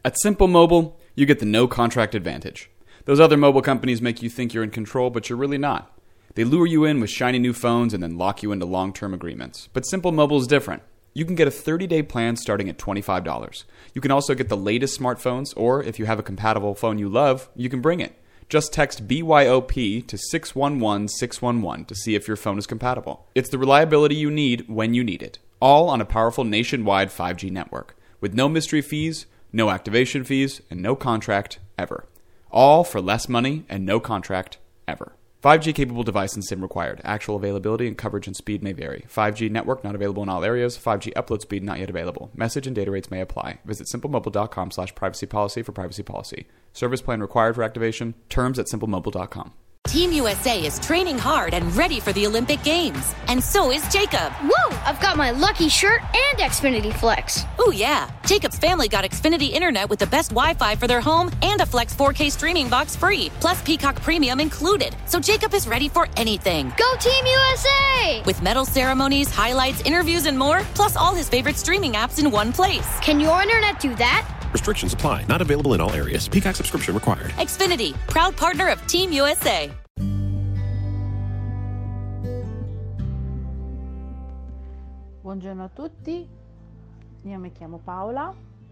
At Simple Mobile, you get the no contract advantage. Those other mobile companies make you think you're in control, but you're really not. They lure you in with shiny new phones and then lock you into long-term agreements. But Simple Mobile is different. You can get a 30-day plan starting at $25. You can also get the latest smartphones, or if you have a compatible phone you love, you can bring it. Just text BYOP to 611-611 to see if your phone is compatible. It's the reliability you need when you need it. All on a powerful nationwide 5G network. With no mystery fees, no activation fees, and no contract ever. All for less money and no contract ever. 5G capable device and SIM required. Actual availability and coverage and speed may vary. 5G network not available in all areas. 5G upload speed not yet available. Message and data rates may apply. Visit simplemobile.com/privacy policy for privacy policy. Service plan required for activation. Terms at simplemobile.com. Team USA is training hard and ready for the Olympic Games. And so is Jacob. Whoa! I've got my Lucky shirt and Xfinity Flex. Oh yeah, Jacob's family got Xfinity Internet with the best Wi-Fi for their home and a Flex 4K streaming box free, plus Peacock Premium included. So Jacob is ready for anything. Go Team USA! With medal ceremonies, highlights, interviews, and more, plus all his favorite streaming apps in one place. Can your internet do that? Restrictions apply. Not available in all areas. Peacock subscription required. Xfinity, proud partner of Team USA. Buongiorno a tutti, io mi chiamo Paola,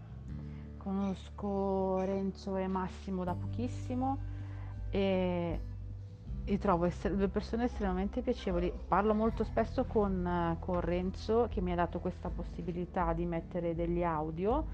conosco Renzo e Massimo da pochissimo e trovo due persone estremamente piacevoli. Parlo molto spesso con Renzo, che mi ha dato questa possibilità di mettere degli audio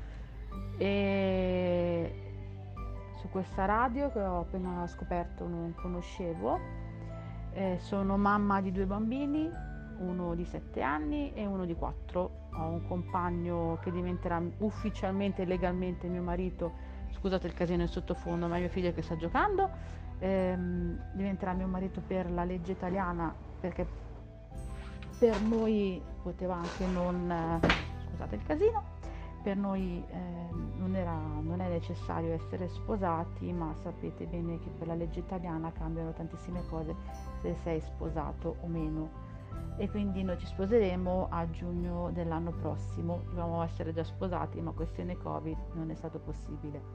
e su questa radio che ho appena scoperto, non conoscevo. Sono mamma di 2 bambini, uno di 7 anni e uno di 4. Ho un compagno che diventerà ufficialmente e legalmente mio marito. Scusate il casino in sottofondo, ma è mio figlio che sta giocando. Diventerà mio marito per la legge italiana, perché per noi poteva anche non, scusate il casino, per noi non è necessario essere sposati, ma sapete bene che per la legge italiana cambiano tantissime cose se sei sposato o meno. E quindi noi ci sposeremo a giugno dell'anno prossimo. Dovevamo essere già sposati, ma questione Covid non è stato possibile.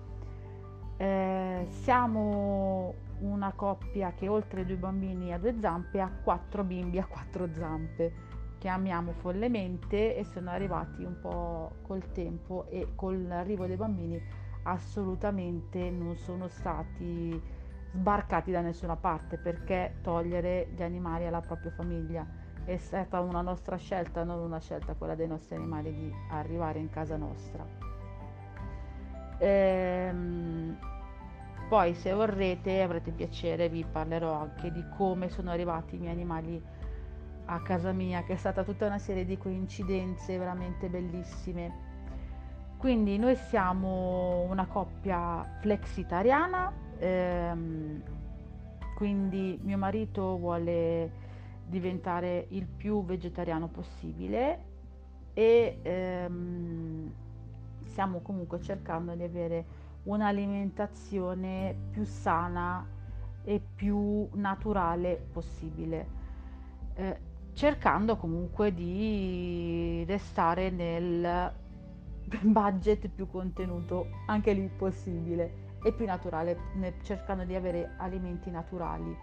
Siamo una coppia che oltre 2 bambini a 2 zampe ha 4 bimbi a 4 zampe, che amiamo follemente, e sono arrivati un po' col tempo, e con l'arrivo dei bambini assolutamente non sono stati sbarcati da nessuna parte, perché togliere gli animali alla propria famiglia è stata una nostra scelta, non una scelta quella dei nostri animali di arrivare in casa nostra. Poi se vorrete, avrete piacere, vi parlerò anche di come sono arrivati i miei animali a casa mia, che è stata tutta una serie di coincidenze veramente bellissime. Quindi noi siamo una coppia flexitariana, quindi mio marito vuole diventare il più vegetariano possibile e stiamo comunque cercando di avere un'alimentazione più sana e più naturale possibile, cercando comunque di restare nel budget più contenuto anche lì possibile e più naturale, cercando di avere alimenti naturali.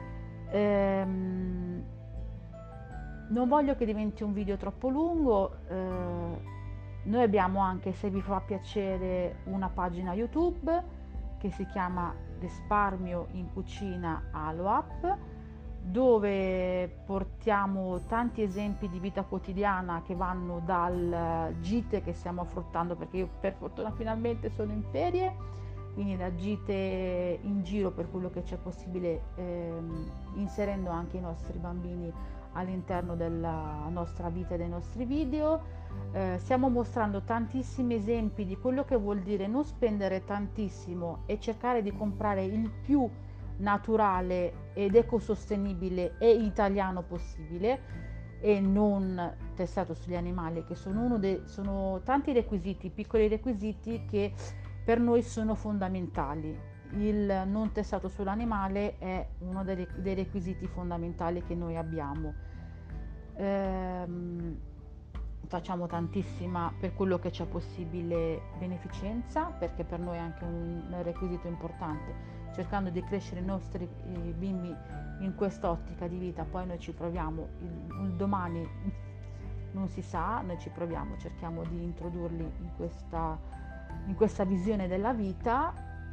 Non voglio che diventi un video troppo lungo. Noi abbiamo anche, se vi fa piacere, una pagina YouTube che si chiama Risparmio in Cucina Aloap, dove portiamo tanti esempi di vita quotidiana che vanno dal gite che stiamo affrontando, perché io per fortuna finalmente sono in ferie, quindi da gite in giro per quello che c'è possibile, inserendo anche i nostri bambini all'interno della nostra vita e dei nostri video. Stiamo mostrando tantissimi esempi di quello che vuol dire non spendere tantissimo e cercare di comprare il più naturale ed ecosostenibile e italiano possibile, e non testato sugli animali, che sono tanti requisiti, piccoli requisiti che per noi sono fondamentali. Il non testato sull'animale è uno dei requisiti fondamentali che noi abbiamo. facciamo tantissima, per quello che c'è possibile, beneficenza, perché per noi è anche un requisito importante, cercando di crescere i nostri bimbi in quest'ottica di vita. Poi noi ci proviamo, il domani non si sa, noi ci proviamo, cerchiamo di introdurli in questa visione della vita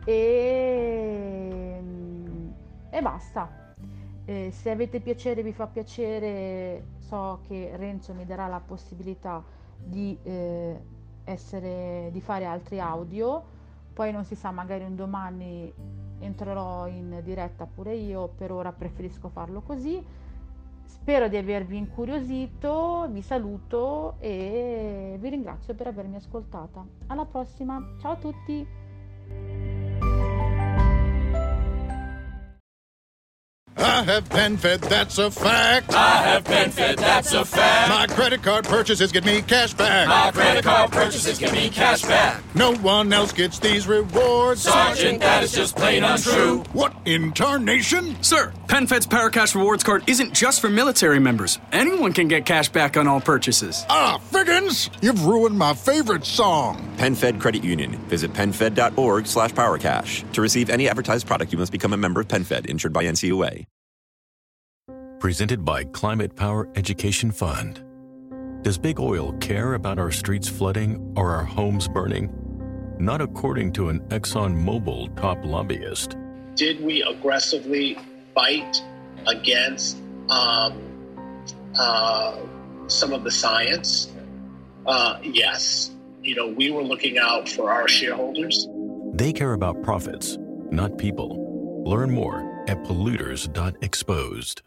e basta. Se avete piacere, vi fa piacere, so che Renzo mi darà la possibilità di fare altri audio, poi non si sa, magari un domani entrerò in diretta pure io, per ora preferisco farlo così. Spero di avervi incuriosito, vi saluto e vi ringrazio per avermi ascoltata. Alla prossima, ciao a tutti! I have PenFed, that's a fact. I have PenFed, that's a fact. My credit card purchases get me cash back. My credit card purchases get me cash back. No one else gets these rewards. Sergeant, that is just plain untrue. What in tarnation? Sir, PenFed's Paracash Rewards Card isn't just for military members. Anyone can get cash back on all purchases. Ah, Figgins, you've ruined my favorite song. PenFed Credit Union. Visit PenFed.org/PowerCash. To receive any advertised product, you must become a member of PenFed, insured by NCUA. Presented by Climate Power Education Fund. Does big oil care about our streets flooding or our homes burning? Not according to an ExxonMobil top lobbyist. Did we aggressively fight against some of the science? Yes. We were looking out for our shareholders. They care about profits, not people. Learn more at polluters.exposed.